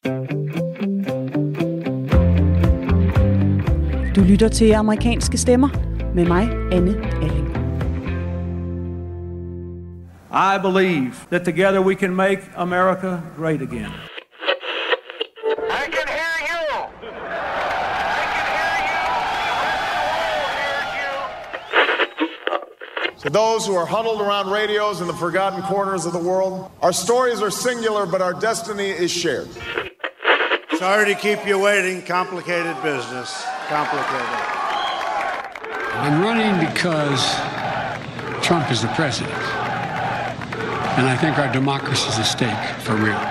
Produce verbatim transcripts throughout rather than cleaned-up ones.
Du lytter til Amerikanske Stemmer med mig, Anne Alling. I believe that together we can make America great again. I can hear you. I can hear you. The whole world hears you. To those who are huddled around radios in the forgotten corners of the world, our stories are singular, but our destiny is shared. Sorry to keep you waiting. Complicated business. Complicated. I'm running because Trump is the president. And I think our democracy is at stake for real.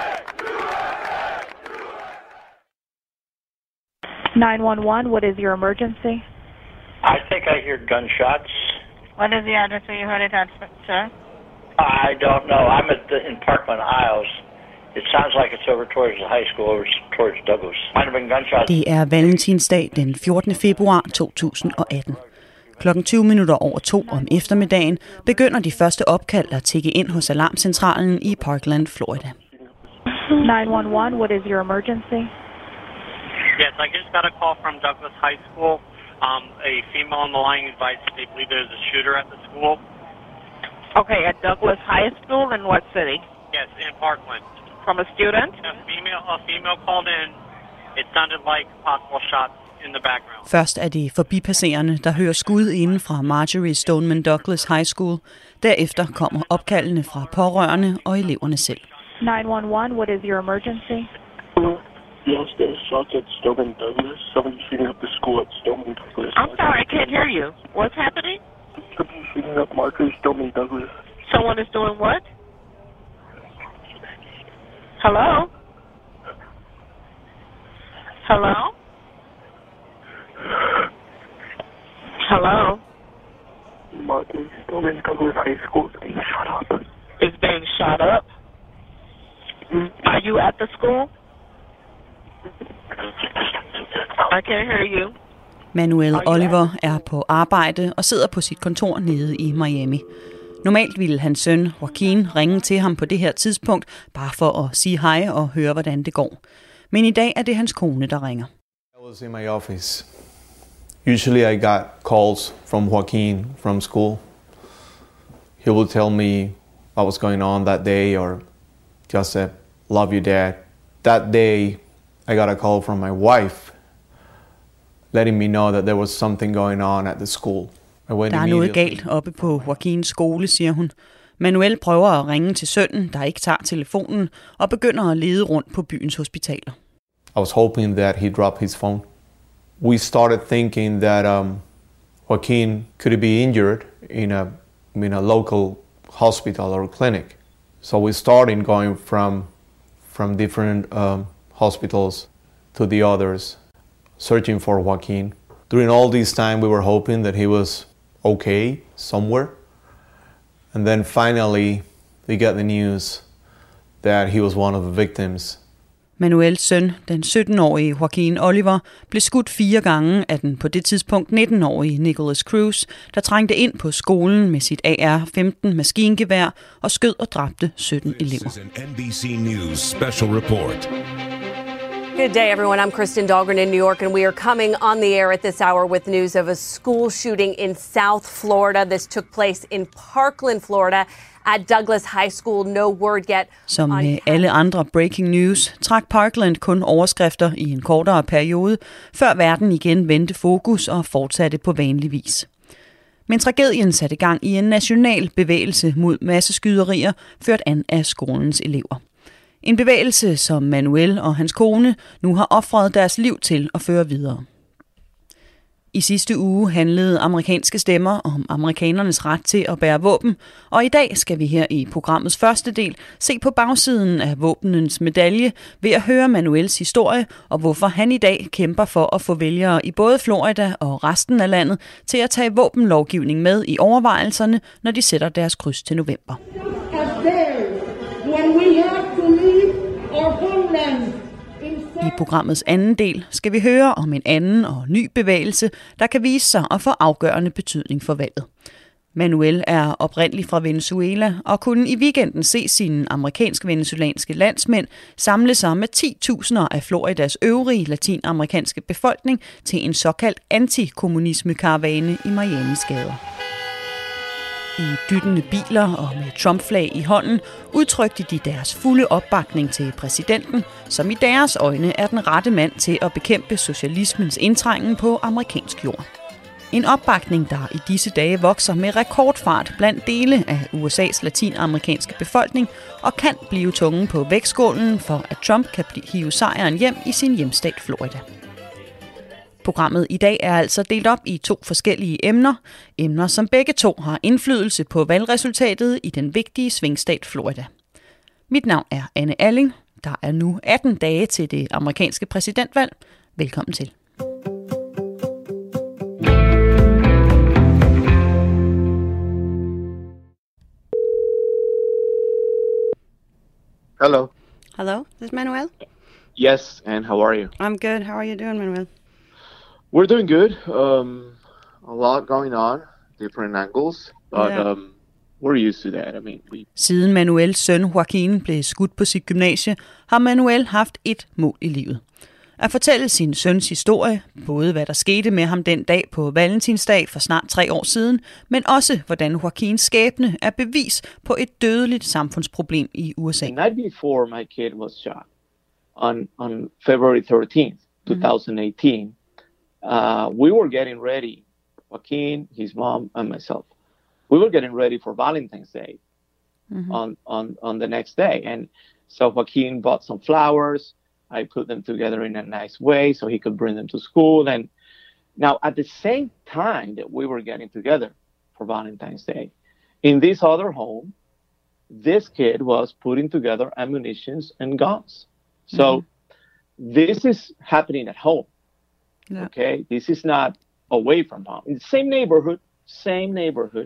nine one one, what is your emergency? I think I hear gunshots. What is the address where you heard it at, sir? I don't know. I'm at the, in Parkland Isles. It sounds like it's over towards the high school, over towards Douglas. Might have been gunshots. Det er valentinsdag den fjortende februar to tusind og atten. Klokken tyve minutter over to om eftermiddagen begynder de første opkald at tikke ind hos alarmcentralen i Parkland, Florida. nine one one, what is your emergency? Yes, I just got a call from Douglas High School. Um, a female on the line advised they believe there's a shooter at the school. Okay, at Douglas High School in what city? Yes, in Parkland. From a student? A female, a female called in. It sounded like possible shots in the background. Først er det forbipasserende, der hører skud inden fra Marjorie Stoneman Douglas High School. Derefter kommer opkaldene fra pårørende og eleverne selv. nine one one, what is your emergency? Yes, there's shots at Stoneman Douglas. Somebody's shooting up the school at Stoneman Douglas. I'm sorry, I can't hear you. What's happening? Somebody's shooting up Marjorie Stoneman Douglas. Someone is doing what? Hello? Hello? Hello? Marjorie Stoneman Douglas High School is being shot up. Is being shot up? Are you at the school? I can't hear you. Manuel Oliver er på arbejde og sidder på sit kontor nede i Miami. Normalt ville hans søn, Joaquin, ringe til ham på det her tidspunkt, bare for at sige hej og høre, hvordan det går. Men i dag er det hans kone, der ringer. I was in my office. Usually I got calls from Joaquin from school. He would tell me what was going on that day or just say, love you, Dad. That day I got a call from my wife letting me know that there was something going on at the school. Der er noget galt oppe på Joaquins skole, siger hun. Manuel prøver at ringe til sønnen, der ikke tager telefonen, og begynder at lede rundt på byens hospitaler. I was hoping that he dropped his phone. We started thinking that um, Joaquin could be injured in a, in a local hospital or clinic. So we started going from, from different um, hospitals to the others, searching for Joaquin. During all this time, we were hoping that he was okay somewhere. And then finally, we got the news that he was one of the victims. Manuels søn, den sytten-årige Joaquin Oliver, blev skudt fire gange af den på det tidspunkt nitten-årige Nicholas Cruz, der trængte ind på skolen med sit A R femten maskingevær og skød og dræbte sytten elever. N B C News special report. Good day, everyone. I'm Kristen Dahlgren in New York, and we are coming on the air at this hour with news of a school shooting in South Florida. This took place in Parkland, Florida, at Douglas High School. No word yet. Som med alle andre breaking news trak Parkland kun overskrifter i en kortere periode, før verden igen vendte fokus og fortsatte på vanlig vis. Men tragedien satte gang i en national bevægelse mod masseskyderier, ført an af skolens elever. En bevægelse, som Manuel og hans kone nu har ofret deres liv til at føre videre. I sidste uge handlede Amerikanske Stemmer om amerikanernes ret til at bære våben, og i dag skal vi her i programmets første del se på bagsiden af våbenens medalje ved at høre Manuels historie og hvorfor han i dag kæmper for at få vælgere i både Florida og resten af landet til at tage våbenlovgivning med i overvejelserne, når de sætter deres kryds til november. I programmets anden del skal vi høre om en anden og ny bevægelse, der kan vise sig at få afgørende betydning for valget. Manuel er oprindelig fra Venezuela og kunne i weekenden se sine amerikansk-venezuelanske landsmænd samle sig med ti tusinder af Floridas øvrige latinamerikanske befolkning til en såkaldt antikommunisme-karavane i Miamis gader. I dyttende biler og med Trump-flag i hånden udtrykte de deres fulde opbakning til præsidenten, som i deres øjne er den rette mand til at bekæmpe socialismens indtrængen på amerikansk jord. En opbakning, der i disse dage vokser med rekordfart blandt dele af U S A's latinamerikanske befolkning og kan blive tungen på vægtskålen for, at Trump kan hive sejren hjem i sin hjemstat Florida. Programmet i dag er altså delt op i to forskellige emner. Emner, som begge to har indflydelse på valgresultatet i den vigtige svingstat Florida. Mit navn er Anne Alling. Der er nu atten dage til det amerikanske præsidentvalg. Velkommen til. Hello. Hello, this is Manuel. Yes, and how are you? I'm good. How are you doing, Manuel? We're doing good. Um, a lot going on, different angles, but Yeah. um, we're used to that. I mean, we. Siden Manuels søn Joaquin blev skudt på sit gymnasie, har Manuel haft et mål i livet. At fortælle sin søns historie, både hvad der skete med ham den dag på Valentinsdag for snart tre år siden, men også hvordan Joaquins skæbne er bevis på et dødeligt samfundsproblem i U S A. The night before my kid was shot, on on February thirteenth, twenty eighteen, uh, we were getting ready. Joaquin, his mom, and myself. We were getting ready for Valentine's Day Mm-hmm. on on on the next day, and so Joaquin bought some flowers. I put them together in a nice way so he could bring them to school. And now at the same time that we were getting together for Valentine's Day, in this other home, this kid was putting together ammunitions and guns. So mm-hmm. this is happening at home. Yeah. Okay. This is not away from home. In the same neighborhood, same neighborhood.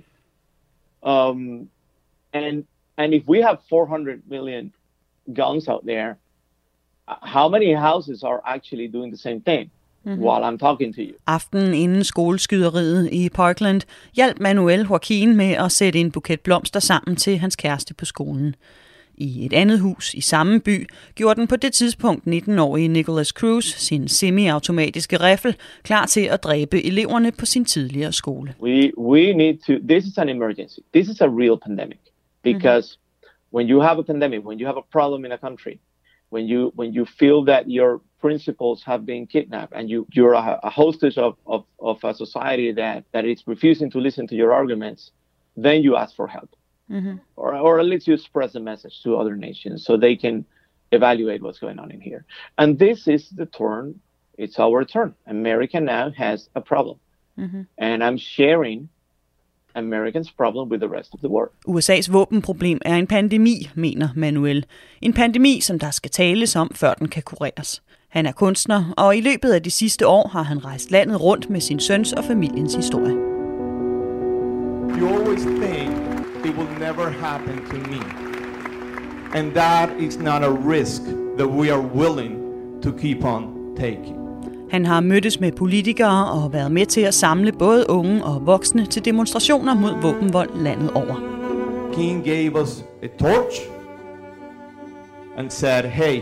Um, and, and if we have four hundred million guns out there, how many houses are actually doing the same thing mm-hmm. while I'm talking to you? Aftenen inden skoleskyderiet i Parkland hjalp Manuel Joaquin med at sætte en buket blomster sammen til hans kæreste på skolen. I et andet hus i samme by gjorde den på det tidspunkt nitten-årige Nicholas Cruz sin semi-automatiske riffel klar til at dræbe eleverne på sin tidligere skole. We we need to. This is an emergency. This is a real pandemic because mm-hmm. when you have a pandemic, when you have a problem in a country, when you when you feel that your principles have been kidnapped and you you're a, a hostage of, of of a society that that is refusing to listen to your arguments, then you ask for help. Mm-hmm. Or, or at least you express a message to other nations so they can evaluate what's going on in here. And this is the turn. It's our turn. America now has a problem. Mm-hmm. And I'm sharing Americans' problem with the rest of the world. U S A's våbenproblem er en pandemi, mener Manuel. En pandemi, som der skal tales om, før den kan kureres. Han er kunstner, og i løbet af de sidste år har han rejst landet rundt med sin søns og familiens historie. You always think it will never happen to me. And that is not a risk that we are willing to keep on taking. Han har mødtes med politikere og været med til at samle både unge og voksne til demonstrationer mod våbenvold landet over. King gave us a torch and said, hey,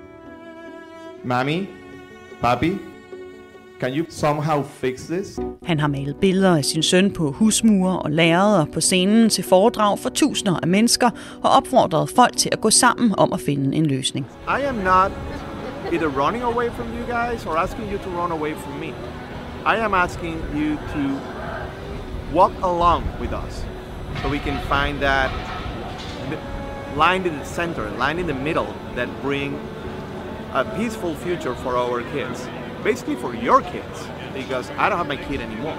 mommy, papi, can you somehow fix this? Han har malet billeder af sin søn på husmure og lærreder på scenen til foredrag for tusinder af mennesker og opfordret folk til at gå sammen om at finde en løsning. I am not either running away from you guys or asking you to run away from me. I am asking you to walk along with us so we can find that line in the center, line in the middle that bring a peaceful future for our kids. Basically for your kids, because I don't have my kid anymore.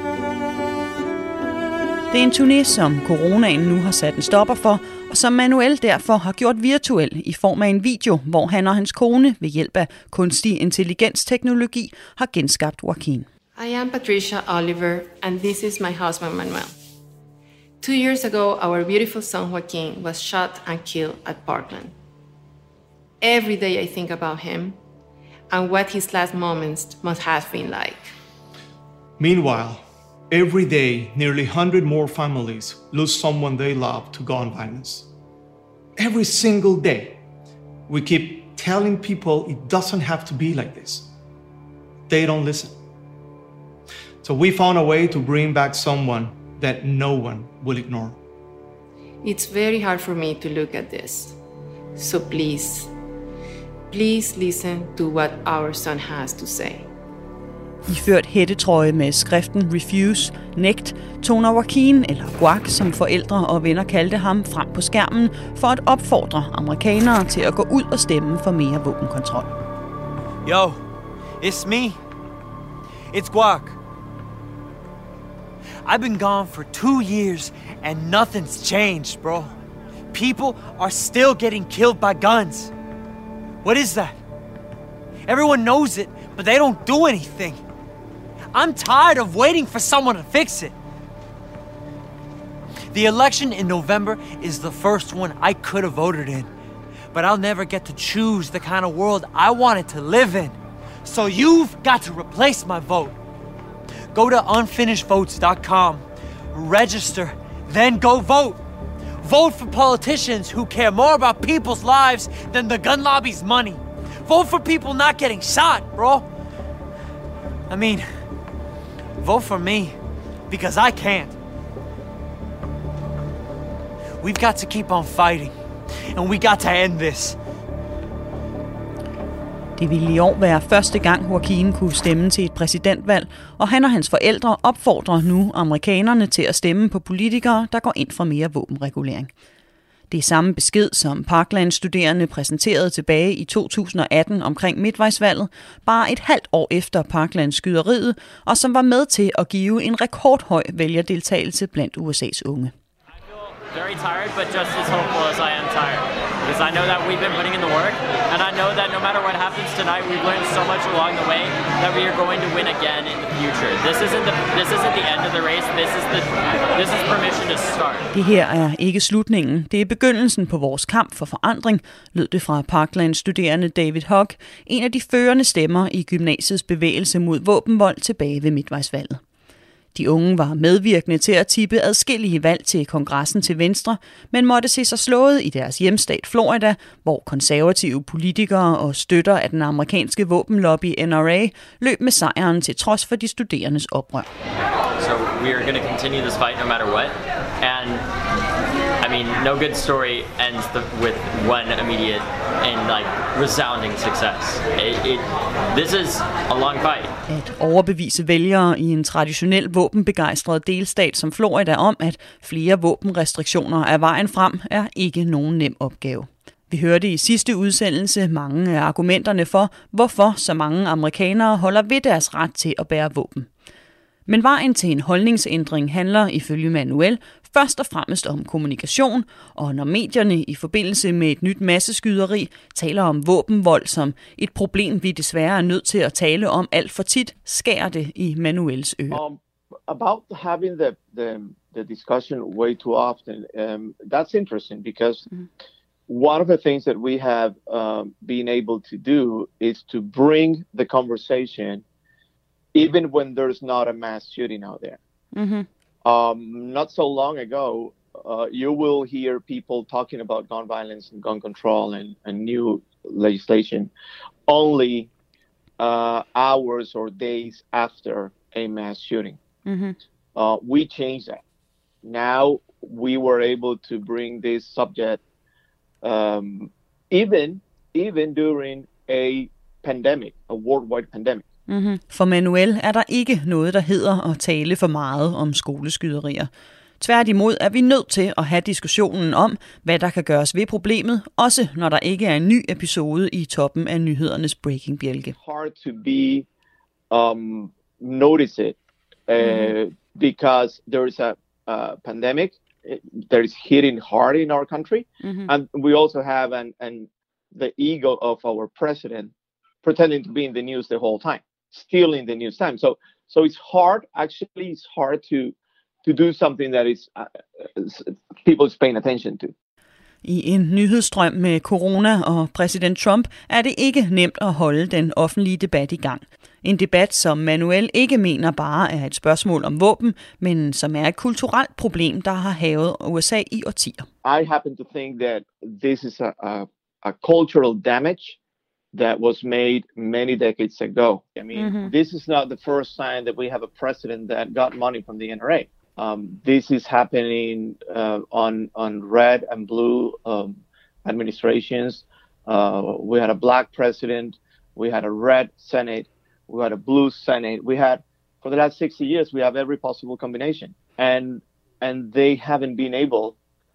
Det er en turné, som coronaen nu har sat en stopper for, og som Manuel derfor har gjort virtuel i form af en video, hvor han og hans kone ved hjælp af kunstig intelligensteknologi har genskabt Joaquin. I am Patricia Oliver, and this is my husband Manuel. Two years ago, our beautiful son Joaquin was shot and killed at Parkland. Every day I think about him and what his last moments must have been like. Meanwhile, every day, nearly one hundred more families lose someone they love to gun violence. Every single day, we keep telling people it doesn't have to be like this. They don't listen. So we found a way to bring back someone that no one will ignore. It's very hard for me to look at this. So please, please listen to what our son has to say. Iført hættetrøje med skriften Refuse, nægt, toner Joaquin, eller Guac, som forældre og venner kaldte ham, frem på skærmen for at opfordre amerikanere til at gå ud og stemme for mere våbenkontrol. Yo, it's me. It's Guac. I've been gone for two years and nothing's changed, bro. People are still getting killed by guns. What is that? Everyone knows it, but they don't do anything. I'm tired of waiting for someone to fix it. The election in November is the first one I could have voted in, but I'll never get to choose the kind of world I wanted to live in. So you've got to replace my vote. Go to unfinished votes dot com, register, then go vote. Vote for politicians who care more about people's lives than the gun lobby's money. Vote for people not getting shot, bro. I mean, vote for me, because I can't. We've got to keep on fighting, and we got to end this. Det ville i år være første gang, Joaquin kunne stemme til et præsidentvalg, og han og hans forældre opfordrer nu amerikanerne til at stemme på politikere, der går ind for mere våbenregulering. Det er samme besked, som Parkland-studerende præsenterede tilbage i to tusind og atten omkring midtvejsvalget, bare et halvt år efter Parkland-skyderiet, og som var med til at give en rekordhøj vælgerdeltagelse blandt U S A's unge. Very tired, but just as hopeful as I am tired. Because I know that we've been putting in the work, and I know that no matter what happens tonight, we've learned so much along the way that we are going to win again in the future. This isn't the this isn't the end of the race. This is the this is permission to start. Det her er ikke slutningen. Det er begyndelsen på vores kamp for forandring, lød det fra Parkland-studerende David Hogg, en af de førende stemmer i gymnasiets bevægelse mod våbenvold tilbage ved midtvejsvalget. De unge var medvirkende til at tippe adskillige valg til kongressen til venstre, men måtte se sig slået i deres hjemstat Florida, hvor konservative politikere og støtter af den amerikanske våbenlobby N R A løb med sejren til trods for de studerendes oprør. So we are going to continue this fight no matter what, and I mean, no good story ends the, with one immediate and like resounding success. It, it, this is a long fight. At overbevise vælgere i en traditionel våbenbegejstret delstat som Florida om, at flere våbenrestriktioner er vejen frem, er ikke nogen nem opgave. Vi hørte i sidste udsendelse mange af argumenterne for, hvorfor så mange amerikanere holder ved deres ret til at bære våben. Men vejen til en holdningsændring handler ifølge Manuel først og fremmest om kommunikation, og når medierne i forbindelse med et nyt masseskyderi taler om våbenvold som et problem, vi desværre er nødt til at tale om alt for tit, skærer det i Manuels ører. Um, about having the, the, the discussion way too often, um, that's interesting because mm-hmm. one of the things that we have um, been able to do is to bring the conversation even when there's not a mass shooting out there. Mm-hmm. Um, not so long ago, uh, you will hear people talking about gun violence and gun control and, and new legislation only uh, hours or days after a mass shooting. Mm-hmm. Uh, we changed that. Now we were able to bring this subject um, even even during a pandemic, a worldwide pandemic. Mm-hmm. For Manuel er der ikke noget, der hedder at tale for meget om skoleskyderier. Tværtimod er vi nødt til at have diskussionen om, hvad der kan gøres ved problemet, også når der ikke er en ny episode i toppen af nyhedernes breaking-bjælke. Hard to be um, noticed uh, mm-hmm. because there is a uh, pandemic that is hitting hard in our country, mm-hmm. and we also have an, an the ego of our president pretending to be in the news the whole time. Still in the news time. So so it's hard, actually it's hard to to do something that is uh, people's paying attention to. I en nyhedsstrøm med corona og præsident Trump er det ikke nemt at holde den offentlige debat i gang. En debat, som Manuel ikke mener bare er et spørgsmål om våben, men som er et kulturelt problem, der har hærget U S A i årtier. I happen to think that this is a, a, a cultural damage that was made many decades ago. I mean, mm-hmm. this is not the first time that we have a president that got money from the N R A. Um, this is happening uh, on on red and blue um, administrations. Uh, we had a black president. We had a red Senate. We had a blue Senate. We had, for the last sixty years, we have every possible combination. And and they haven't been able,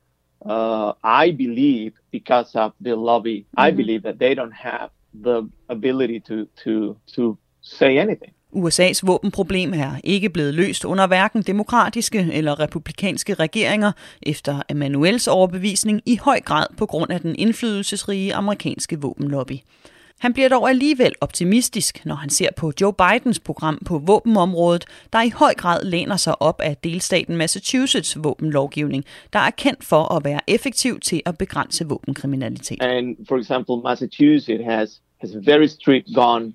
uh, I believe, because of the lobby, mm-hmm. I believe that they don't have the ability to, to, to say anything. U S A's våbenproblem er ikke blevet løst under hverken demokratiske eller republikanske regeringer efter Emanuels overbevisning, i høj grad på grund af den indflydelsesrige amerikanske våbenlobby. Han bliver dog alligevel optimistisk, når han ser på Joe Bidens program på våbenområdet, der i høj grad læner sig op af delstaten Massachusetts våbenlovgivning, der er kendt for at være effektiv til at begrænse våbenkriminalitet. And for example, Massachusetts has has very strict gun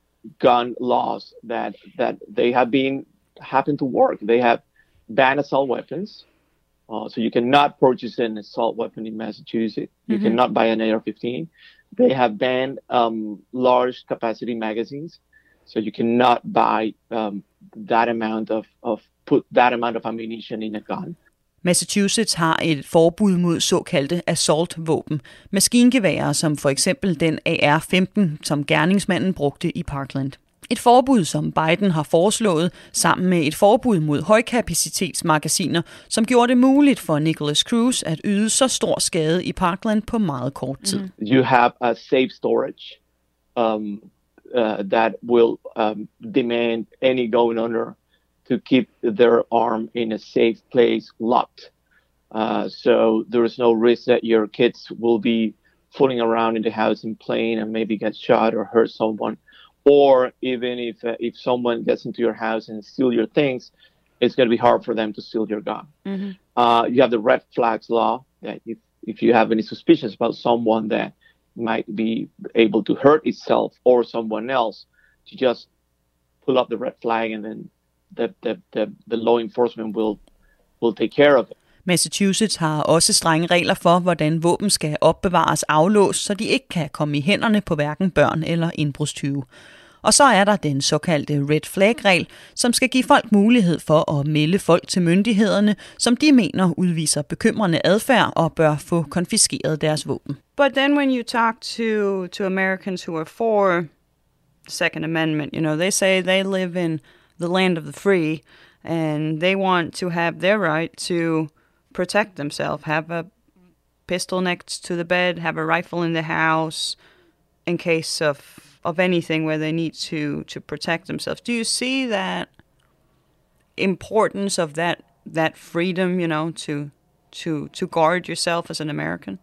gun laws that that they have been happen to work. They have banned assault weapons, uh, so you cannot purchase an assault weapon in Massachusetts. You mm-hmm. cannot buy an A R fifteen. They have banned um, large capacity magazines, so you cannot buy um, that amount of, of put that amount of ammunition in a gun. Massachusetts har et forbud mod såkaldte assault-våben, maskingeværer som for eksempel den A R femten, som gerningsmanden brugte i Parkland. Et forbud, som Biden har foreslået, sammen med et forbud mod højkapacitetsmagasiner, som gjorde det muligt for Nicholas Cruz at yde så stor skade i Parkland på meget kort tid. Mm. You have a safe storage um, uh, that will um, demand any gun owner to keep their arm in a safe place locked. Uh, so there is no risk that your kids will be fooling around in the house and playing and maybe get shot or hurt someone. Or even if uh, if someone gets into your house and steal your things, it's going to be hard for them to steal your gun. Mm-hmm. Uh, you have the red flags law that if, if you have any suspicions about someone that might be able to hurt itself or someone else, to just pull up the red flag and then the, the, the, the law enforcement will, will take care of it. Massachusetts har også strenge regler for, hvordan våben skal opbevares aflåst, så de ikke kan komme i hænderne på hverken børn eller indbrudstyve. Og så er der den såkaldte red flag-regel, som skal give folk mulighed for at melde folk til myndighederne, som de mener udviser bekymrende adfærd og bør få konfiskeret deres våben. But then when you talk to, to Americans who are for the Second Amendment, you know, they say they live in the land of the free, and they want to have their right to protect themselves, have a pistol next to the bed, have a rifle in the house in case of of anything where they need to to protect themselves. Do you see that importance of that that freedom, you know, to to to guard yourself as an American?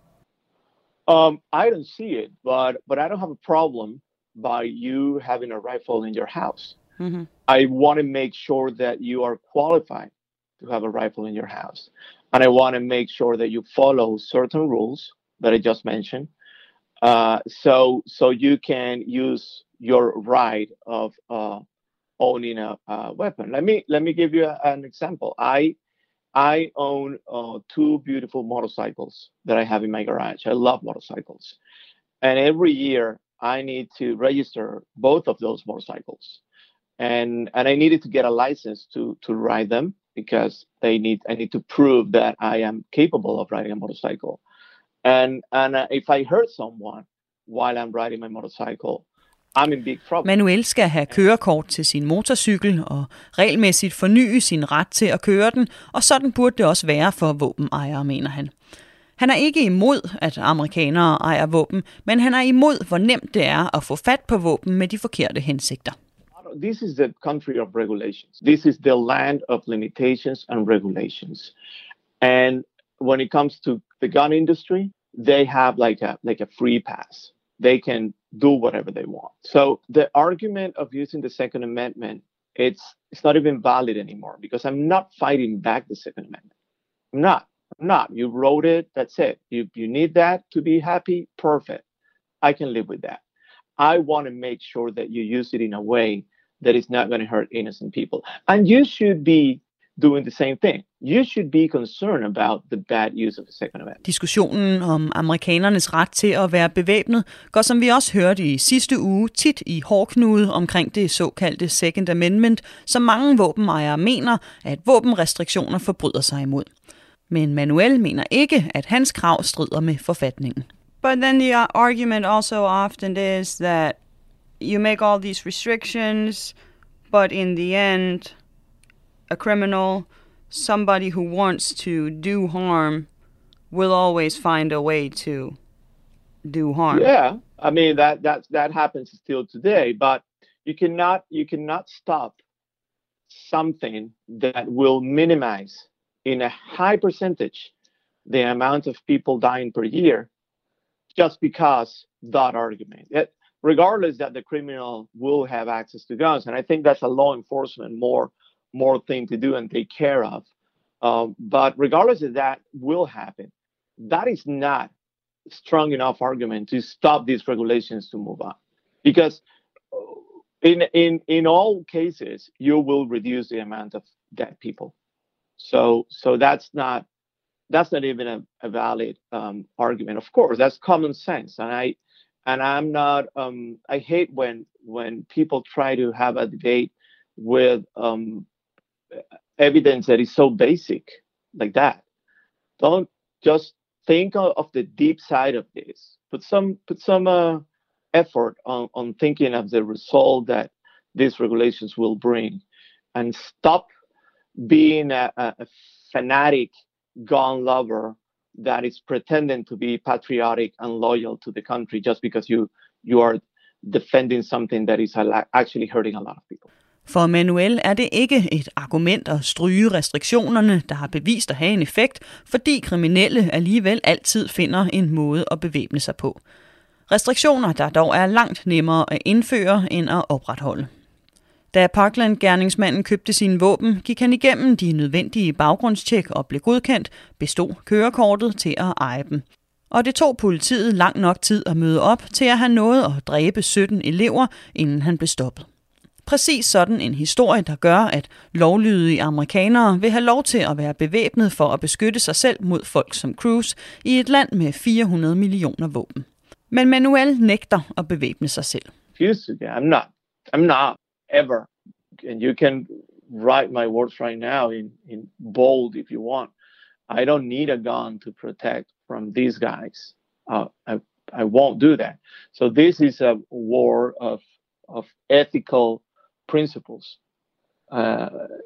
Um, I don't see it, but but I don't have a problem by you having a rifle in your house. Mm-hmm. I want to make sure that you are qualified to have a rifle in your house. And I want to make sure that you follow certain rules that I just mentioned. Uh, so so you can use your right of uh, owning a, a weapon. Let me let me give you a, an example. I I own uh, two beautiful motorcycles that I have in my garage. I love motorcycles. And every year I need to register both of those motorcycles. And and I needed to get a license to to ride them, because they need I need to prove that I am capable of riding a motorcycle. And and uh, if I hurt someone while I'm riding my motorcycle, I'm in big trouble. Manuel skal have kørekort til sin motorcykel og regelmæssigt forny sin ret til at køre den, og sådan burde det også være for våbenejere, mener han. Han er ikke imod, at amerikanere ejer våben, men han er imod, hvor nemt det er at få fat på våben med de forkerte hensigter. This is the country of regulations. This is the land of limitations and regulations. And when it comes to the gun industry, they have like a like a free pass. They can do whatever they want. So the argument of using the Second Amendment, it's it's not even valid anymore, because I'm not fighting back the Second Amendment. I'm not. I'm not. You wrote it, that's it. You you need that to be happy, perfect. I can live with that. I want to make sure that you use it in a way that is not going to hurt innocent people. And you should be doing the same thing. You should be concerned about the bad use of the Second Amendment. Diskussionen om amerikanernes ret til at være bevæbnet går, som vi også hørte i sidste uge, tit i hårdknude omkring det såkaldte Second Amendment, som mange våbenejere mener, at våbenrestriktioner forbryder sig imod. Men Manuel mener ikke, at hans krav strider med forfatningen. But then the argument also often is that you make all these restrictions, but in the end, a criminal, somebody who wants to do harm, will always find a way to do harm. Yeah, I mean that that that happens still today, but you cannot you cannot stop something that will minimize in a high percentage the amount of people dying per year just because that argument. It, regardless that the criminal will have access to guns, and I think that's a law enforcement more more thing to do and take care of. Um, but regardless of that will happen, that is not strong enough argument to stop these regulations to move on. Because in in in all cases, you will reduce the amount of dead people. So so that's not that's not even a, a valid um, argument. Of course, that's common sense, and I and I'm not. Um, I hate when when people try to have a debate with um, evidence that is so basic like that. Don't just think of the deep side of this. Put some put some uh, effort on, on thinking of the result that these regulations will bring, and stop being a, a, a fanatic gun lover that is pretending to be patriotic and loyal to the country just because you you are defending something that is actually hurting a lot of people. For Manuel er det ikke et argument at stryge restriktionerne, der har bevist at have en effekt, fordi kriminelle alligevel altid finder en måde at bevæbne sig på. Restriktioner, der dog er langt nemmere at indføre end at opretholde. Da Parkland-gerningsmanden købte sine våben, gik han igennem de nødvendige baggrundstjek og blev godkendt, bestod kørekortet til at eje dem. Og det tog politiet lang nok tid at møde op til at have nået at dræbe sytten elever, inden han blev stoppet. Præcis sådan en historie, der gør, at lovlydige amerikanere vil have lov til at være bevæbnet for at beskytte sig selv mod folk som Cruz i et land med fire hundrede millioner våben. Men Manuel nægter at bevæbne sig selv. I'm not. I'm not ever. And you can write my words right now in, in bold if you want. I don't need a gun to protect from these guys. Uh, I I won't do that. So this is a war of of ethical principles. Uh,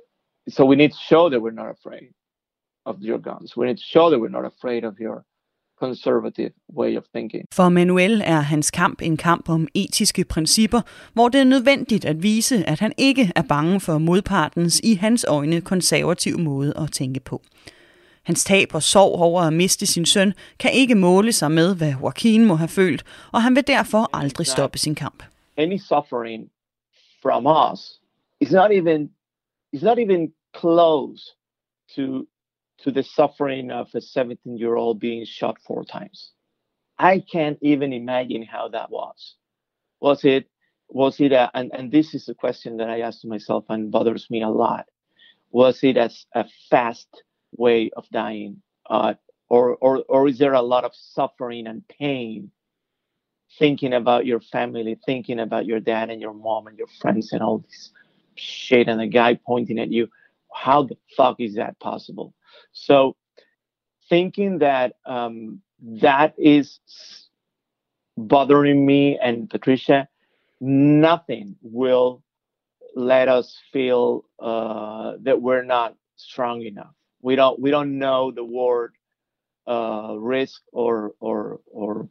so we need to show that we're not afraid of your guns. We need to show that we're not afraid of your conservative way of thinking. For Manuel er hans kamp en kamp om etiske principper, hvor det er nødvendigt at vise, at han ikke er bange for modpartens i hans øjne konservative måde at tænke på. Hans tab og sorg over at miste sin søn kan ikke måle sig med, hvad Joaquin må have følt, og han vil derfor aldrig stoppe sin kamp. Any suffering from us is not even is not even close to to the suffering of a seventeen-year-old being shot four times. I can't even imagine how that was. Was it was it a, and and this is a question that I ask myself and bothers me a lot. Was it a, a fast way of dying, uh, or or or is there a lot of suffering and pain? Thinking about your family, thinking about your dad and your mom and your friends and all this shit, and the guy pointing at you. How the fuck is that possible? So thinking that um, that is bothering me and Patricia, nothing will let us feel uh, that we're not strong enough. We don't we don't know the word uh, risk or or or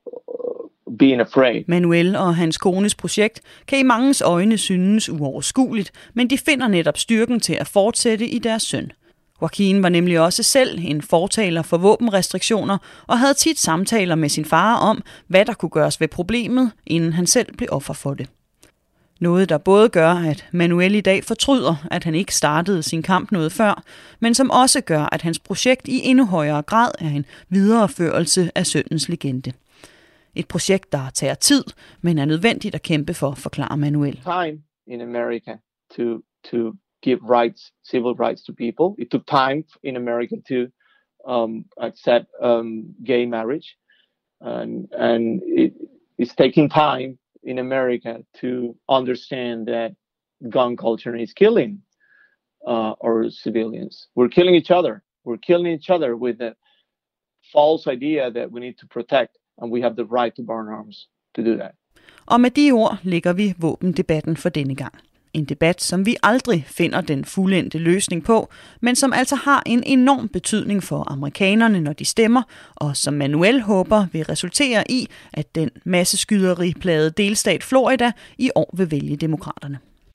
being afraid. Manuel og hans kones projekt kan i manges øjne synes uoverskueligt, men de finder netop styrken til at fortsætte i deres søn. Joaquin var nemlig også selv en fortaler for våbenrestriktioner og havde tit samtaler med sin far om, hvad der kunne gøres ved problemet, inden han selv blev offer for det. Noget, der både gør, at Manuel i dag fortryder, at han ikke startede sin kamp noget før, men som også gør, at hans projekt i endnu højere grad er en videreførelse af sønnens legende. Et projekt, der tager tid, men er nødvendigt at kæmpe for, forklarer Manuel. Time in America to to give rights, civil rights to people. It took time in America to um, accept um, gay marriage, and and it, it's taking time in America to understand that gun culture is killing uh, our civilians. We're killing each other. We're killing each other with the false idea that we need to protect, and we have the right to bear arms to do that. Og med de ord lægger vi våbendebatten for denne gang. En debat, som vi aldrig finder den fuldendte løsning på, men som altså har en enorm betydning for amerikanerne, når de stemmer, og som Manuel håber vil resultere i, at den masseskyderiplagede delstat Florida i år vil vælge demokraterne.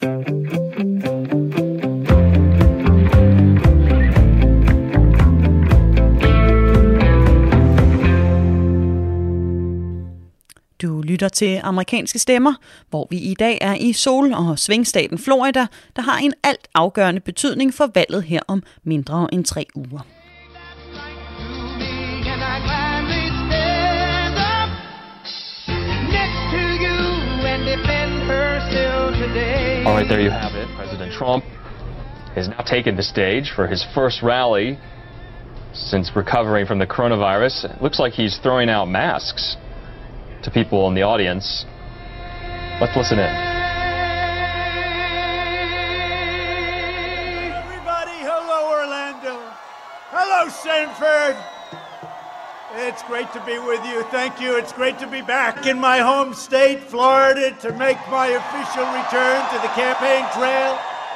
Du lytter til Amerikanske Stemmer, hvor vi i dag er i sol- og svingstaten Florida, der har en alt afgørende betydning for valget her om mindre end tre uger. All right, there you have it. President Trump has now taken the stage for his first rally since recovering from the coronavirus. It looks like he's throwing out masks to people in the audience. Let's listen in. Everybody, hello Orlando. Hello Sanford. It's great to be with you. Thank you. It's great to be back in my home state, Florida, to make my official return to the campaign trail.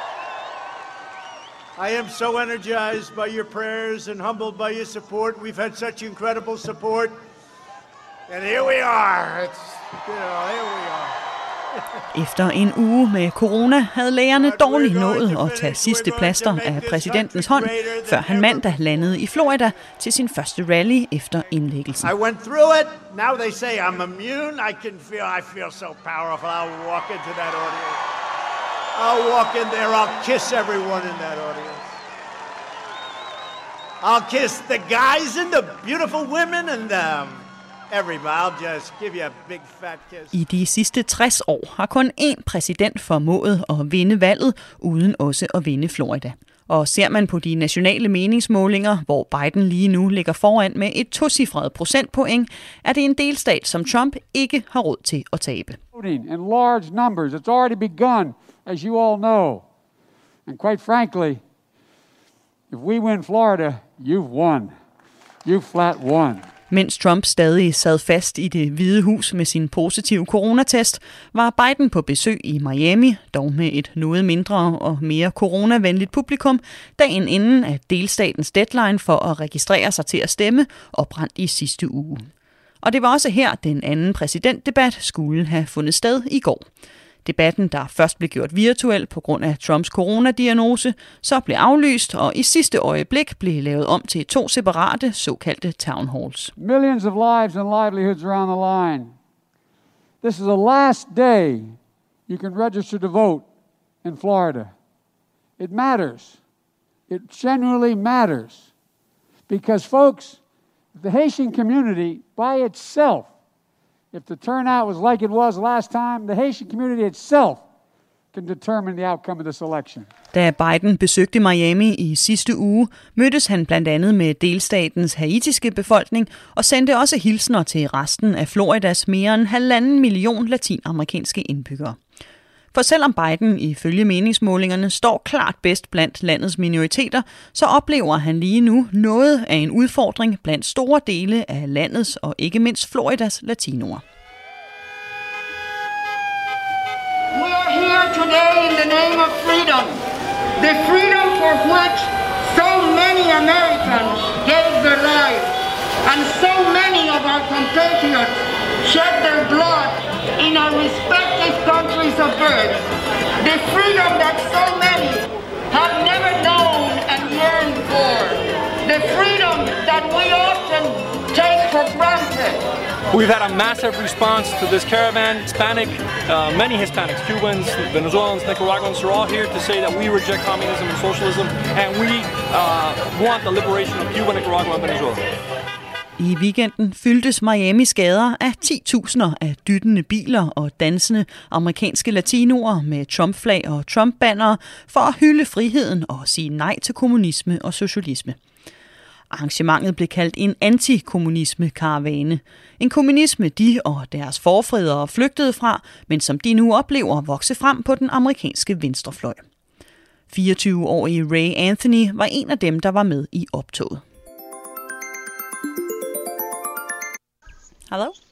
I am so energized by your prayers and humbled by your support. We've had such incredible support. And here we are. It's, you know, here we are. Efter en uge med corona havde lægerne dårligt nået at tage sidste plaster af præsidentens hånd, før han mandag landede i Florida til sin første rally efter indlæggelsen. I went through it. Now they say I'm immune. I can feel I feel so powerful. I'll walk into that audience. I'll walk in there. I'll kiss everyone in that audience. I'll kiss the guys and the beautiful women and them. I'll just give you a big fat kiss. I de sidste tres år har kun én præsident formået at vinde valget, uden også at vinde Florida. Og ser man på de nationale meningsmålinger, hvor Biden lige nu ligger foran med et tocifret procentpoint, er det en delstat, som Trump ikke har råd til at tabe. In large numbers, it's already begun, as you all know. And quite frankly, if we win Florida, you've won. You flat won. Mens Trump stadig sad fast i Det Hvide Hus med sin positive coronatest, var Biden på besøg i Miami, dog med et noget mindre og mere coronavenligt publikum, dagen inden at delstatens deadline for at registrere sig til at stemme oprandt i sidste uge. Og det var også her, den anden præsidentdebat skulle have fundet sted i går. Debatten, der først blev gjort virtuel på grund af Trumps coronadiagnose, så blev aflyst og i sidste øjeblik blev lavet om til to separate såkaldte town halls. Millions of lives and livelihoods are on the line. This is the last day you can register to vote in Florida. It matters. It genuinely matters. Because folks, the Haitian community by itself, if the turnout was like it was last time, the Haitian community itself can determine the outcome of this election. Da Biden besøgte Miami i sidste uge, mødtes han blandt andet med delstatens haitiske befolkning og sendte også hilsner til resten af Floridas mere end halvanden million latinamerikanske indbyggere. For selvom Biden ifølge meningsmålingerne står klart bedst blandt landets minoriteter, så oplever han lige nu noget af en udfordring blandt store dele af landets og ikke mindst Floridas latinoer. We are here today in the name of freedom. The freedom for which so many Americans gave their lives and so many of our compatriots shed their blood in our respective countries of birth. The freedom that so many have never known and yearned for. The freedom that we often take for granted. We've had a massive response to this caravan. Hispanic, uh, many Hispanics, Cubans, Venezuelans, Nicaraguans are all here to say that we reject communism and socialism and we uh, want the liberation of Cuba, Nicaragua, and Venezuela. I weekenden fyldtes Miamis gader af ti tusinder af dyttende biler og dansende amerikanske latinoer med Trump-flag og Trump-bannere for at hylde friheden og sige nej til kommunisme og socialisme. Arrangementet blev kaldt en antikommunisme-karavane. En kommunisme, de og deres forfædre flygtede fra, men som de nu oplever vokse frem på den amerikanske venstrefløj. fireogtyve-årige Ray Anthony var en af dem, der var med i optoget. Hello?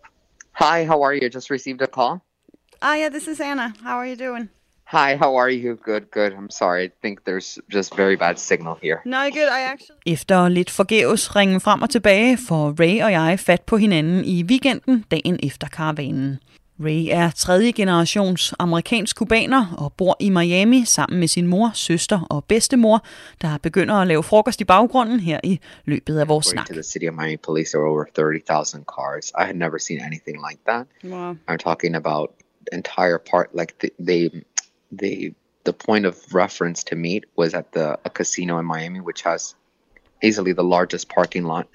Hi, how are you? I just received a call. Ah, yeah, this is Anna. How are you doing? Hi, how are you? Good, good. I'm sorry. I think there's just very bad signal here. No, good. I actually... Efter lidt forgæves ringen frem og tilbage, får Ray og jeg fat på hinanden i weekenden dagen efter karavanen. Ray er tredje generations amerikansk kubaner og bor i Miami sammen med sin mor, søster og bedstemor, der begynder at lave frokost i baggrunden her i løbet af vores snak. To the city of Miami police, there were over thirty thousand cars. I had never seen anything like that. Wow. I'm talking about entire part, like the, they, they, the point of reference to meet was at the a casino in Miami, which has easily the largest parking lot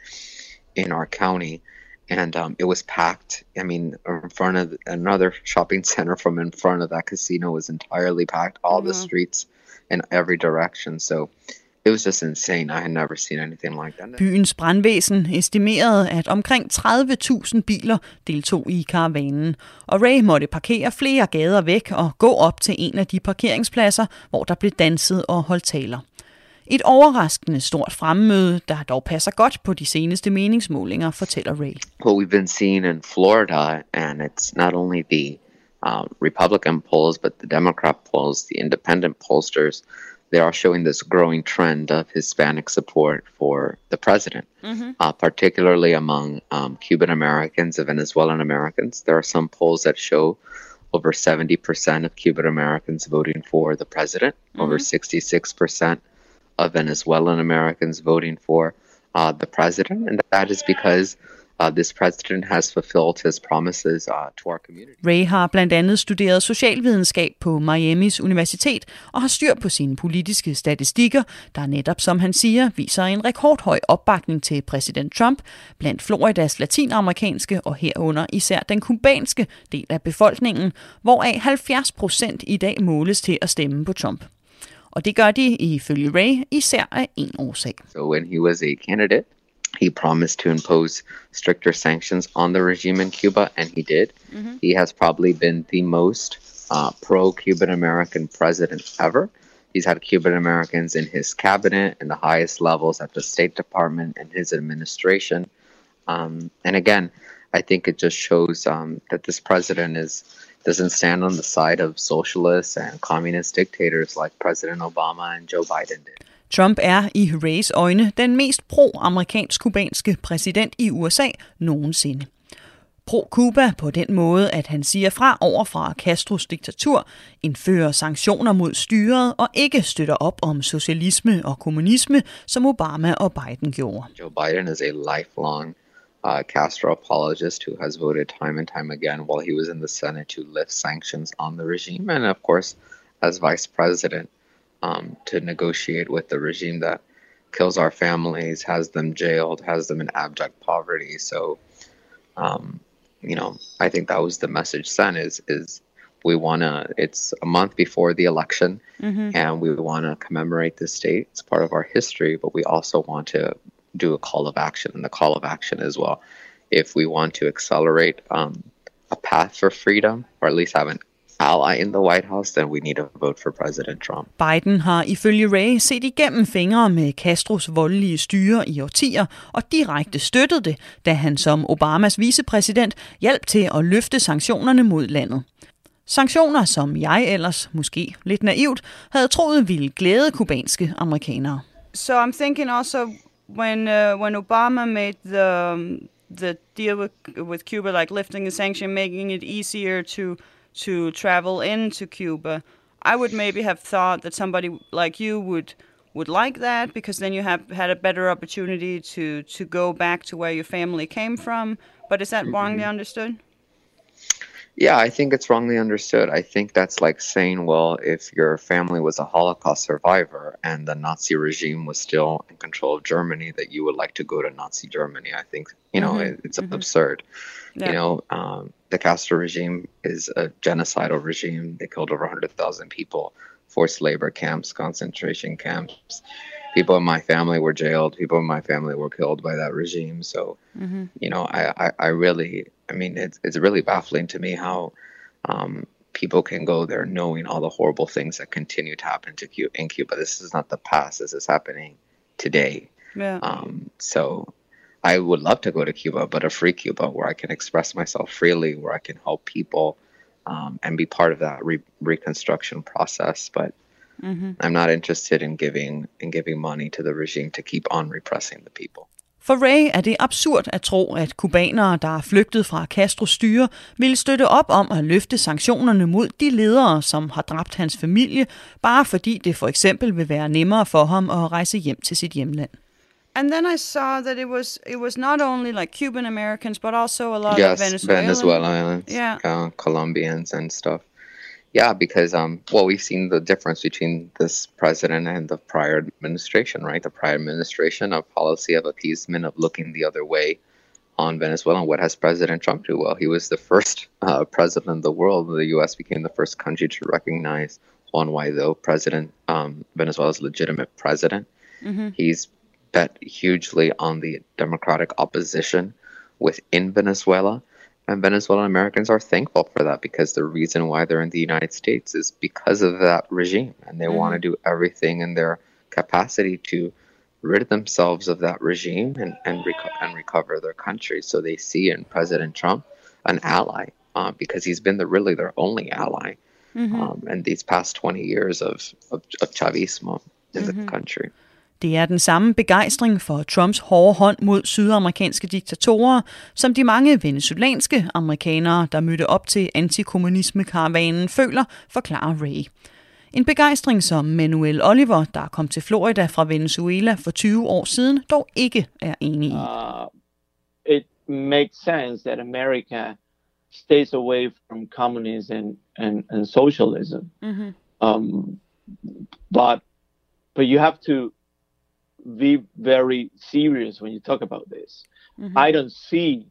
in our county. And um, it was packed. I mean, in front of another shopping center from in front of that casino was entirely packed. All mm-hmm. the streets in every direction. So it was just insane. I had never seen anything like that. Byens brandvæsen estimerede, at omkring tredive tusind biler deltog i karavanen. Og Ray måtte parkere flere gader væk og gå op til en af de parkeringspladser, hvor der blev danset og holdt taler. Et overraskende stort fremmøde, der dog passer godt på de seneste meningsmålinger, fortæller Ray. What we've been seeing in Florida, and it's not only the uh, Republican polls, but the Democrat polls, the independent pollsters, they are showing this growing trend of Hispanic support for the president, mm-hmm. uh, particularly among um, Cuban Americans and Venezuelan Americans. There are some polls that show over seventy percent of Cuban Americans voting for the president, mm-hmm. over sixty-six percent of Venezuelan Americans voting for uh, the president, and that is because uh, this president has fulfilled his promises uh, to our community. Ray har blandt andet studeret socialvidenskab på Miamis Universitet og har styr på sine politiske statistikker, der netop, som han siger, viser en rekordhøj opbakning til præsident Trump blandt Floridas latinamerikanske og herunder især den kubanske del af befolkningen, hvoraf halvfjerds procent i dag måles til at stemme på Trump. Og det gør de ifølge Ray især af en årsag. So when he was a candidate, he promised to impose stricter sanctions on the regime in Cuba, and he did. Mm-hmm. He has probably been the most uh, pro-Cuban American president ever. He's had Cuban Americans in his cabinet and the highest levels at the State Department and his administration. Um, and again, I think it just shows um, that this president is doesn't stand on the side of socialists and communist dictators like President Obama and Joe Biden did. Trump er i Rays øjne den mest pro-amerikansk-kubanske præsident i U S A nogensinde. Pro-Cuba på den måde, at han siger fra over fra Castros diktatur, indfører sanktioner mod styret og ikke støtter op om socialisme og kommunisme, som Obama og Biden gjorde. Joe Biden is a lifelong Uh, Castro apologist who has voted time and time again while he was in the Senate to lift sanctions on the regime, and of course as vice president um, to negotiate with the regime that kills our families, has them jailed, has them in abject poverty. So um, you know, I think that was the message sent is is we want to, it's a month before the election, mm-hmm. and we want to commemorate this date. It's part of our history, but we also want to do a call of action, and the call of action is, well, if we want to accelerate um, a path for freedom, or at least have an ally in the White House, then we need to vote for President Trump. Biden har ifølge Ray set igennem fingre med Castros voldelige styre i årtier og direkte støttet det, da han som Obamas vicepræsident hjalp til at løfte sanktionerne mod landet. Sanktioner, som jeg ellers, måske lidt naivt, havde troet ville glæde kubanske amerikanere. So I'm thinking also when uh, when Obama made the um, the deal with with Cuba, like lifting the sanction, making it easier to to travel into Cuba, I would maybe have thought that somebody like you would would like that, because then you have had a better opportunity to to go back to where your family came from. But is that mm-hmm. wrongly understood? Yeah, I think it's wrongly understood. I think that's like saying, well, if your family was a Holocaust survivor and the Nazi regime was still in control of Germany, that you would like to go to Nazi Germany. I think, you know, mm-hmm. it, it's mm-hmm. absurd. Yeah. You know, um, the Castro regime is a genocidal regime. They killed over one hundred thousand people, forced labor camps, concentration camps. People in my family were jailed. People in my family were killed by that regime. So, mm-hmm. you know, I, I, I really, I mean, it's it's really baffling to me how um, people can go there knowing all the horrible things that continue to happen to Cuba, in Cuba. This is not the past. This is happening today. Yeah. Um, so I would love to go to Cuba, but a free Cuba where I can express myself freely, where I can help people um, and be part of that re- reconstruction process. But mm-hmm. I'm not interested in giving in giving money to the regime to keep on repressing the people. For Ray er det absurd at tro, at kubanere, der er flygtet fra Castros styre, ville støtte op om at løfte sanktionerne mod de ledere, som har dræbt hans familie, bare fordi det for eksempel vil være nemmere for ham at rejse hjem til sit hjemland. And then I saw that it was it was not only like Cuban Americans, but also a lot yes, of Venezuelans. Venezuelans, yeah, uh, Colombians and stuff. Yeah, because um, well, we've seen the difference between this president and the prior administration, right? The prior administration, a policy of appeasement, of looking the other way on Venezuela. And what has President Trump do? Well, he was the first uh, president in the world. The U S became the first country to recognize Juan Guaido, president, um, Venezuela's legitimate president. Mm-hmm. He's bet hugely on the democratic opposition within Venezuela. And Venezuelan Americans are thankful for that, because the reason why they're in the United States is because of that regime. And they mm-hmm. want to do everything in their capacity to rid themselves of that regime and, and, reco- and recover their country. So they see in President Trump an ally, uh, because he's been the really their only ally mm-hmm. um, in these past twenty years of, of, of Chavismo in mm-hmm. the country. Det er den samme begejstring for Trumps hårde hånd mod sydamerikanske diktatorer, som de mange venezuelanske amerikanere, der mødte op til antikommunisme-karavanen, føler, forklarer Ray. En begejstring, som Manuel Oliver, der kom til Florida fra Venezuela for tyve år siden, dog ikke er enig i. Uh, it makes sense that America stays away from communism and, and socialism. Mm-hmm. Um, but, but you have to be very serious when you talk about this. Mm-hmm. I don't see,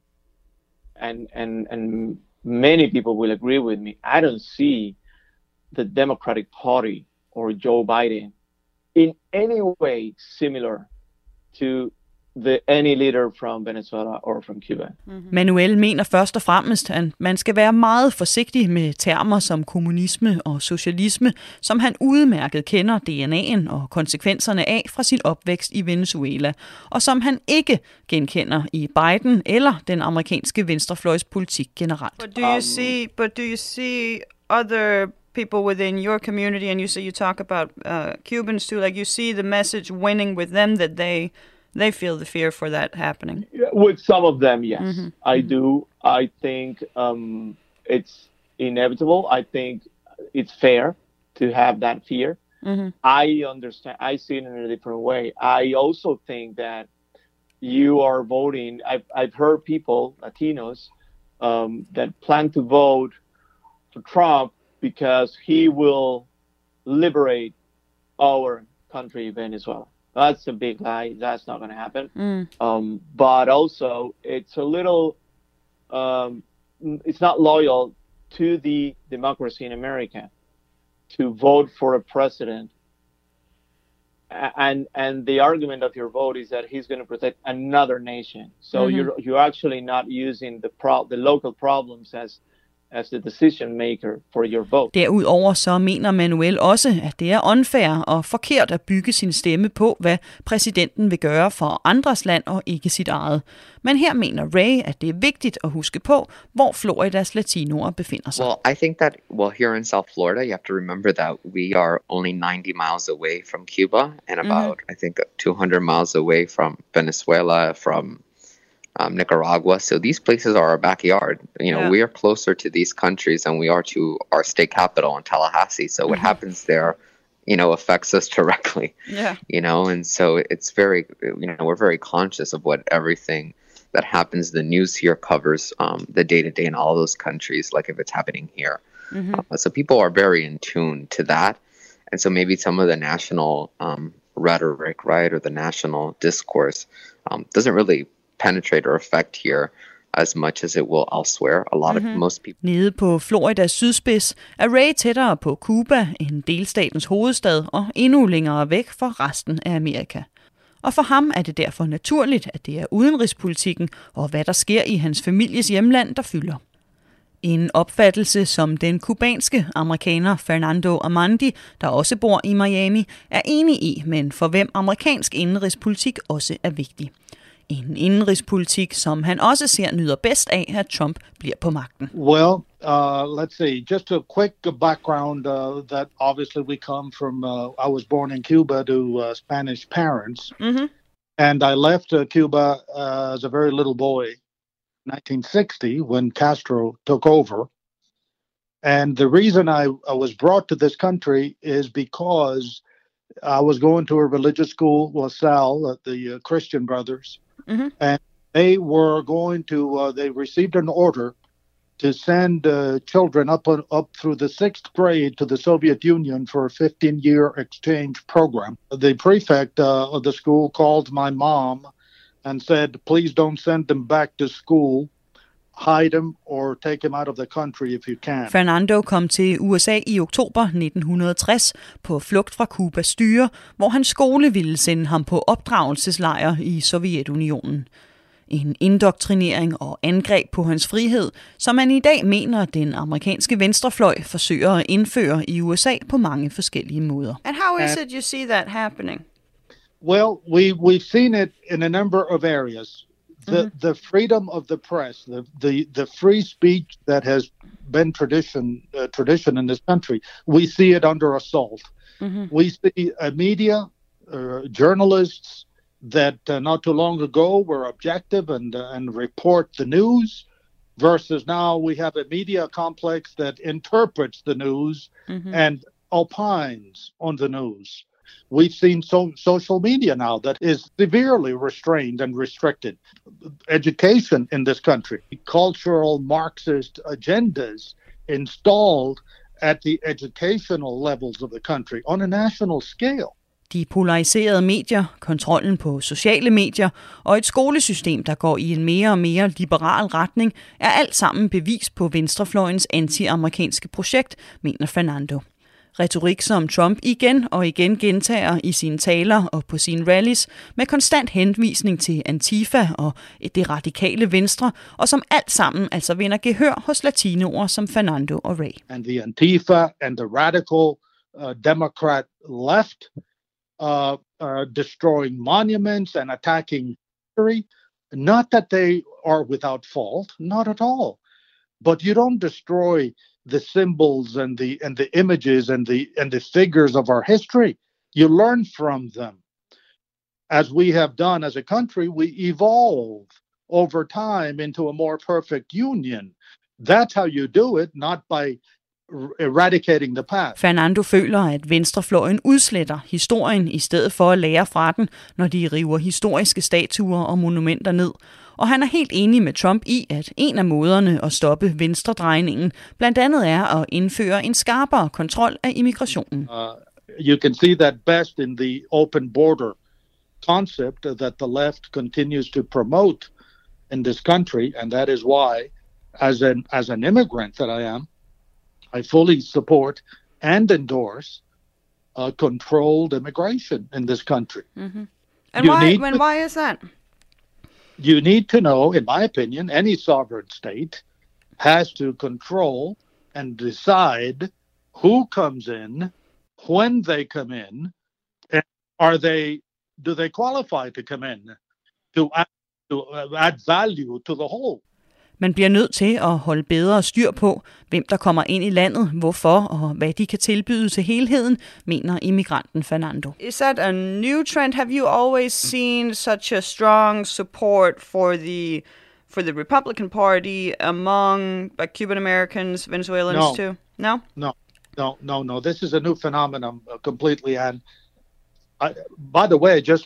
and and and many people will agree with me, I don't see the Democratic Party or Joe Biden in any way similar to the any leader from Venezuela or from Cuba. Mm-hmm. Manuel mener først og fremmest, at man skal være meget forsigtig med termer som kommunisme og socialisme, som han udmærket kender D N A'en og konsekvenserne af fra sin opvækst i Venezuela, og som han ikke genkender i Biden eller den amerikanske venstrefløjspolitik generelt. But do you see, but do you see other people within your community, and you say you talk about uh, Cubans too, like you see the message winning with them, that they They feel the fear for that happening? With some of them, yes. Mm-hmm. I mm-hmm. do. I think um, it's inevitable. I think it's fair to have that fear. Mm-hmm. I understand. I see it in a different way. I also think that you are voting. I've, I've heard people, Latinos, um, that plan to vote for Trump because he will liberate our country, Venezuela. That's a big lie. That's not going to happen. Mm. Um, but also, it's a little, um, it's not loyal to the democracy in America to vote for a president. And and the argument of your vote is that he's going to protect another nation. So mm-hmm. you're you're actually not using the pro- the local problems as as the decision maker for your vote. Derudover så mener Manuel også, at det er unfair og forkert at bygge sin stemme på, hvad præsidenten vil gøre for andres land og ikke sit eget. Men her mener Ray, at det er vigtigt at huske på, hvor Floridas latinoer befinder sig. Well, I think that, well, here in South Florida, you have to remember that we are only ninety miles away from Cuba and about, mm-hmm. I think, two hundred miles away from Venezuela, from Um, Nicaragua. So these places are our backyard. You know, yeah. we are closer to these countries than we are to our state capital in Tallahassee. So mm-hmm. what happens there, you know, affects us directly. Yeah. You know, and so it's very, you know, we're very conscious of what everything that happens, the news here covers um, the day-to-day in all those countries, like if it's happening here. Mm-hmm. Uh, so people are very in tune to that. And so maybe some of the national um, rhetoric, right, or the national discourse um, doesn't really penetrate or affect here as much as it will elsewhere. A lot mm-hmm. of most people. Nede på Floridas sydspids er Ray tættere på Cuba end delstatens hovedstad og endnu længere væk fra resten af Amerika. Og for ham er det derfor naturligt, at det er udenrigspolitikken og hvad der sker i hans families hjemland, der fylder. En opfattelse, som den kubanske amerikaner Fernando Amandi, der også bor i Miami, er enig i, men for hvem amerikansk indenrigspolitik også er vigtig. En indenrigspolitik, som han også ser nyder bedst af, at Trump bliver på magten. Well, uh, let's see. Just a quick background uh, that obviously we come from, uh, I was born in Cuba to uh, Spanish parents. Mm-hmm. And I left uh, Cuba uh, as a very little boy, nineteen sixty, when Castro took over. And the reason I, I was brought to this country is because I was going to a religious school, La Salle, at the uh, Christian Brothers. Mm-hmm. And they were going to, uh, they received an order to send uh, children up on, up through the sixth grade to the Soviet Union for a fifteen-year exchange program. The prefect uh, of the school called my mom and said, please don't send them back to school. Hide them or take them out of the country if you can. Fernando kom til U S A i oktober nitten tres på flugt fra Cubas styre, hvor hans skole ville sende ham på opdragelseslejr i Sovjetunionen. En indoktrinering og angreb på hans frihed, som man i dag mener, den amerikanske venstrefløj forsøger at indføre i U S A på mange forskellige måder. And how is it you see that happening? Well, we we've seen it in a number of areas. The mm-hmm. the freedom of the press, the, the, the free speech that has been tradition uh, tradition in this country, we see it under assault. Mm-hmm. We see a media, uh, journalists that uh, not too long ago were objective and uh, and report the news, versus now we have a media complex that interprets the news mm-hmm. and opines on the news. We've seen so, social media now that is severely restrained and restricted. Education in this country, cultural Marxist agendas installed at the educational levels of the country on a national scale. De polariserede medier, kontrollen på sociale medier og et skolesystem, der går i en mere og mere liberal retning, er alt sammen bevis på venstrefløjens anti-amerikanske projekt, mener Fernando. Retorik, som Trump igen og igen gentager i sine taler og på sine rallies, med konstant henvisning til Antifa og det radikale venstre, og som alt sammen altså vinder gehør hos latinoer som Fernando og Ray. And the Antifa and the radical uh, Democrat left uh, uh, destroying monuments and attacking history. Not that they are without fault, not at all. But you don't destroy the symbols and the and the images and the and the figures of our history. You learn from them. As we have done as a country, we evolve over time into a more perfect union. That's how you do it, not by eradicating the past. Fernando føler, at venstrefløjen udsletter historien i stedet for at lære fra den, når de river historiske statuer og monumenter ned. Og han er helt enig med Trump i, at en af måderne at stoppe venstredrejningen blandt andet er at indføre en skarpere kontrol af immigrationen. Uh, you can see that best in the open border concept that the left continues to promote in this country, and that is why, as an as an immigrant that I am, I fully support and endorse uh, controlled immigration in this country. Mm-hmm. And you why, when, to, why is that? You need to know, in my opinion, any sovereign state has to control and decide who comes in, when they come in, and are they, do they qualify to come in to add, to add value to the whole. Man bliver nødt til at holde bedre styr på, hvem der kommer ind i landet, hvorfor og hvad de kan tilbyde til helheden, mener immigranten Fernando. Is that a new trend? Have you always seen such a strong support for the for the Republican Party among like, Cuban Americans, Venezuelans no. too? No? No, no, no, no. This is a new phenomenon uh, completely. And I, by the way, just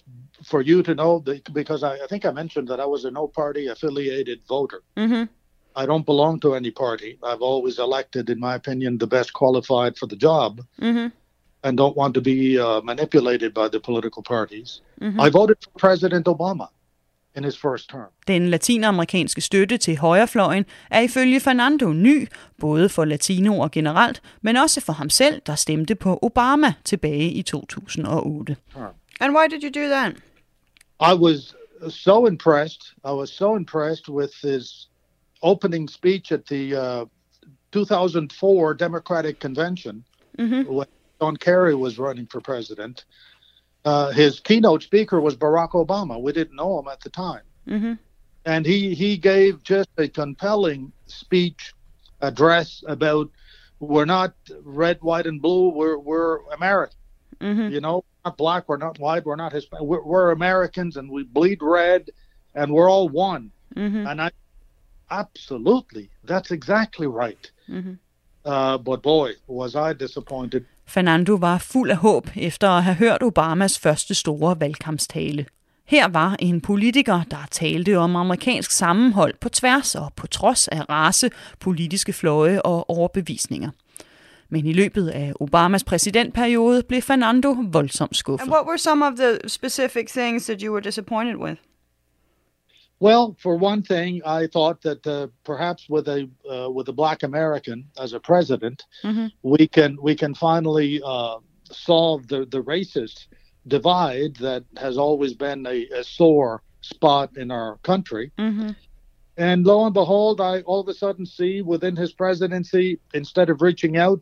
for you to know, that, because I, I think I mentioned that I was a no-party affiliated voter. Mm-hmm. I don't belong to any party. I've always elected, in my opinion, the best qualified for the job, mm-hmm. and don't want to be uh, manipulated by the political parties. Mm-hmm. I voted for President Obama in his first term. Den latinamerikanske støtte til højrefløjen er ifølge Fernando ny, både for latinoer generelt, men også for ham selv, der stemte på Obama tilbage i to tusind og otte. And why did you do that? I was so impressed. I was so impressed with his opening speech at the uh, two thousand four Democratic Convention, mm-hmm. when John Kerry was running for president. Uh, his keynote speaker was Barack Obama. We didn't know him at the time. Mm-hmm. And he, he gave just a compelling speech address about we're not red, white, and blue. We're, we're American. Mm-hmm. You know, we're not black, we're not white, we're not Hispanic. We're, we're Americans, and we bleed red, and we're all one. Mm-hmm. And I, absolutely, that's exactly right. Mm-hmm. Uh, but boy, was I disappointed. Fernando var fuld af håb efter at have hørt Obamas første store valgkampstale. Her var en politiker, der talte om amerikansk sammenhold på tværs og på trods af race, politiske fløje og overbevisninger. Men i løbet af Obamas præsidentperiode blev Fernando voldsomt skuffet. And what were some of the specific things that you were disappointed with? Well, for one thing, I thought that uh, perhaps with a uh, with a Black American as a president, mm-hmm. we can we can finally uh, solve the the racist divide that has always been a, a sore spot in our country. Mm-hmm. And lo and behold, I all of a sudden see within his presidency, instead of reaching out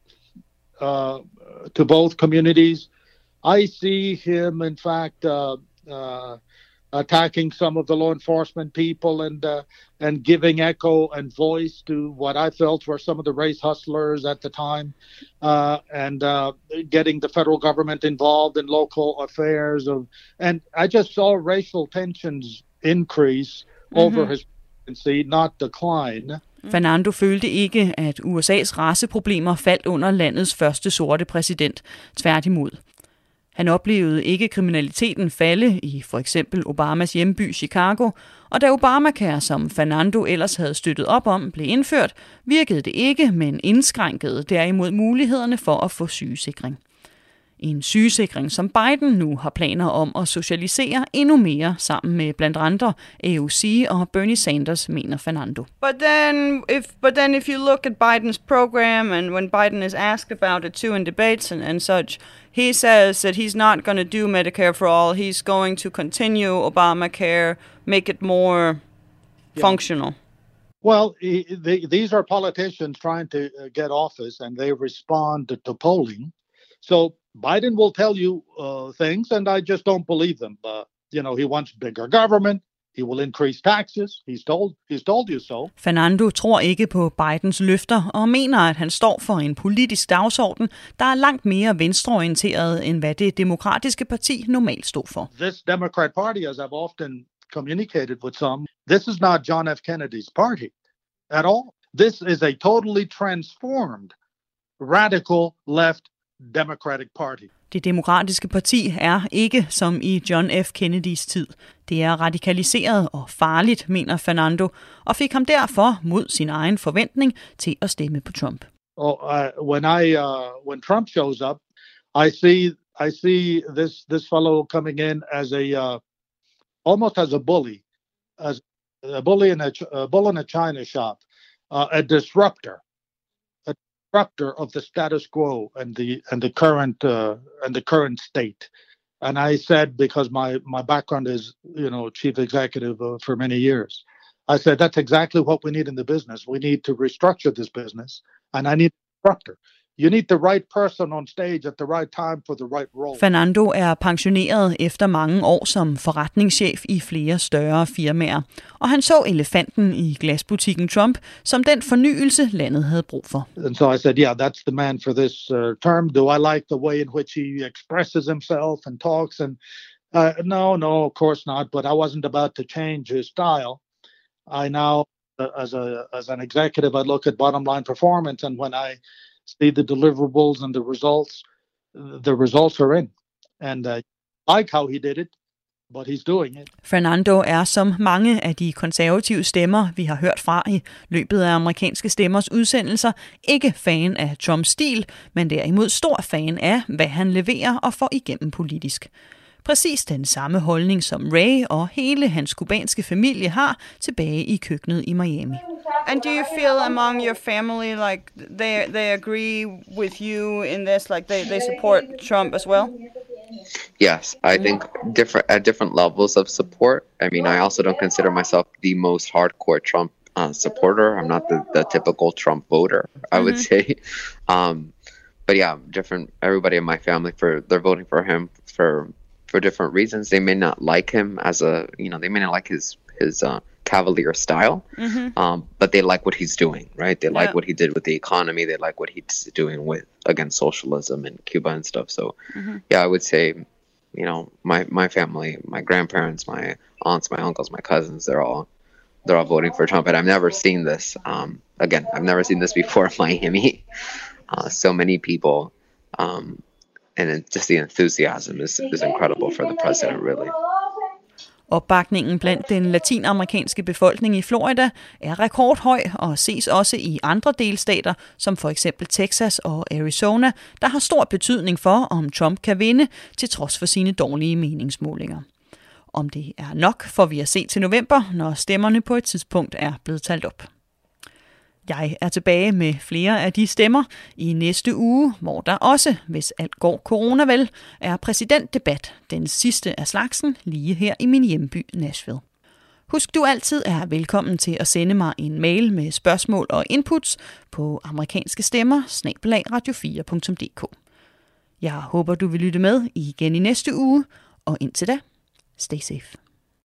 uh, to both communities, I see him, in fact, uh, uh, attacking some of the law enforcement people and uh, and giving echo and voice to what I felt were some of the race hustlers at the time, uh, and uh, getting the federal government involved in local affairs. Of, and I just saw racial tensions increase mm-hmm. over his presidency, not decline. Fernando følte ikke, at U S A's raceproblemer faldt under landets første sorte præsident. Tværtimod. Han oplevede ikke kriminaliteten falde i for eksempel Obamas hjemby Chicago, og da Obamacare, som Fernando ellers havde støttet op om, blev indført, virkede det ikke, men indskrænkede derimod mulighederne for at få sygesikring. En sygesikring, som Biden nu har planer om at socialisere endnu mere sammen med blandt andre A O C og Bernie Sanders, mener Fernando. But then, if but then if you look at Biden's program, and when Biden is asked about it too in debates and, and such, he says that he's not going to do Medicare for all. He's going to continue Obamacare, make it more yeah. functional. Well, he, they, these are politicians trying to get office, and they respond to, to polling. So Biden will tell you uh, things, and I just don't believe them. Uh, you know, he wants bigger government. He will increase taxes. He's told, he's told you so. Fernando tror ikke på Bidens løfter og mener, at han står for en politisk dagsorden, der er langt mere venstreorienteret, end hvad det demokratiske parti normalt stod for. This Democrat Party, as I've often communicated with some, this is not John F. Kennedy's party at all. This is a totally transformed, radical left Democratic Party. Det demokratiske parti er ikke som i John F. Kennedys tid. Det er radikaliseret og farligt, mener Fernando, og fik ham derfor mod sin egen forventning til at stemme på Trump. Oh, uh, when I uh, when Trump shows up, I see I see this this fellow coming in as a uh, almost as a bully, as a bully in a, a bull in a china shop, uh, a disruptor. disruptor of the status quo and the and the current uh, and the current state. And I said, because my my background is, you know, chief executive uh, for many years, I said that's exactly what we need in the business. We need to restructure this business, and I need a disruptor. You need the right person on stage at the right time for the right role. Fernando er pensioneret efter mange år som forretningschef i flere større firmaer, og han så elefanten i glasbutikken Trump som den fornyelse, landet havde brug for. And so I said, yeah, that's the man for this uh, term. Do I like the way in which he expresses himself and talks? And uh, no, no, of course not. But I wasn't about to change his style. I now, uh, as a as an executive, I look at bottom line performance, and when I see the deliverables and the results, the results are in. And I uh, like how he did it. but he's doing it. Fernando er som mange af de konservative stemmer, vi har hørt fra i løbet af amerikanske stemmers udsendelser, ikke fan af Trumps stil, men derimod stor fan af, hvad han leverer og får igennem politisk. Præcis den samme holdning som Ray og hele hans kubanske familie har tilbage i køkkenet i Miami. And do you feel among your family like they they agree with you in this, like they, they support Trump as well? Yes, I think different at different levels of support. I mean, I also don't consider myself the most hardcore Trump uh, supporter. I'm not the, the typical Trump voter, I would mm-hmm. say. Um, but yeah, different. Everybody in my family for they're voting for him for for different reasons. They may not like him as a you know they may not like his his uh, cavalier style, mm-hmm. um, but they like what he's doing, right? They like yeah. what he did with the economy. They like what he's doing with against socialism in Cuba and stuff. So, mm-hmm. yeah, I would say, you know, my my family, my grandparents, my aunts, my uncles, my cousins, they're all they're all voting for Trump. And I've never seen this. Um, again, I've never seen this before in Miami. Uh, so many people, um, and it, just the enthusiasm is is incredible for the president, really. Opbakningen blandt den latinamerikanske befolkning i Florida er rekordhøj og ses også i andre delstater, som for eksempel Texas og Arizona, der har stor betydning for, om Trump kan vinde, til trods for sine dårlige meningsmålinger. Om det er nok, får vi at se til november, når stemmerne på et tidspunkt er blevet talt op. Jeg er tilbage med flere af de stemmer i næste uge, hvor der også, hvis alt går corona vel, er præsidentdebat, den sidste af slagsen, lige her i min hjemby Nashville. Husk, du altid er velkommen til at sende mig en mail med spørgsmål og inputs på amerikanske stemmer snabel-a radio fire punktum d k. Jeg håber, du vil lytte med igen i næste uge, og indtil da, stay safe.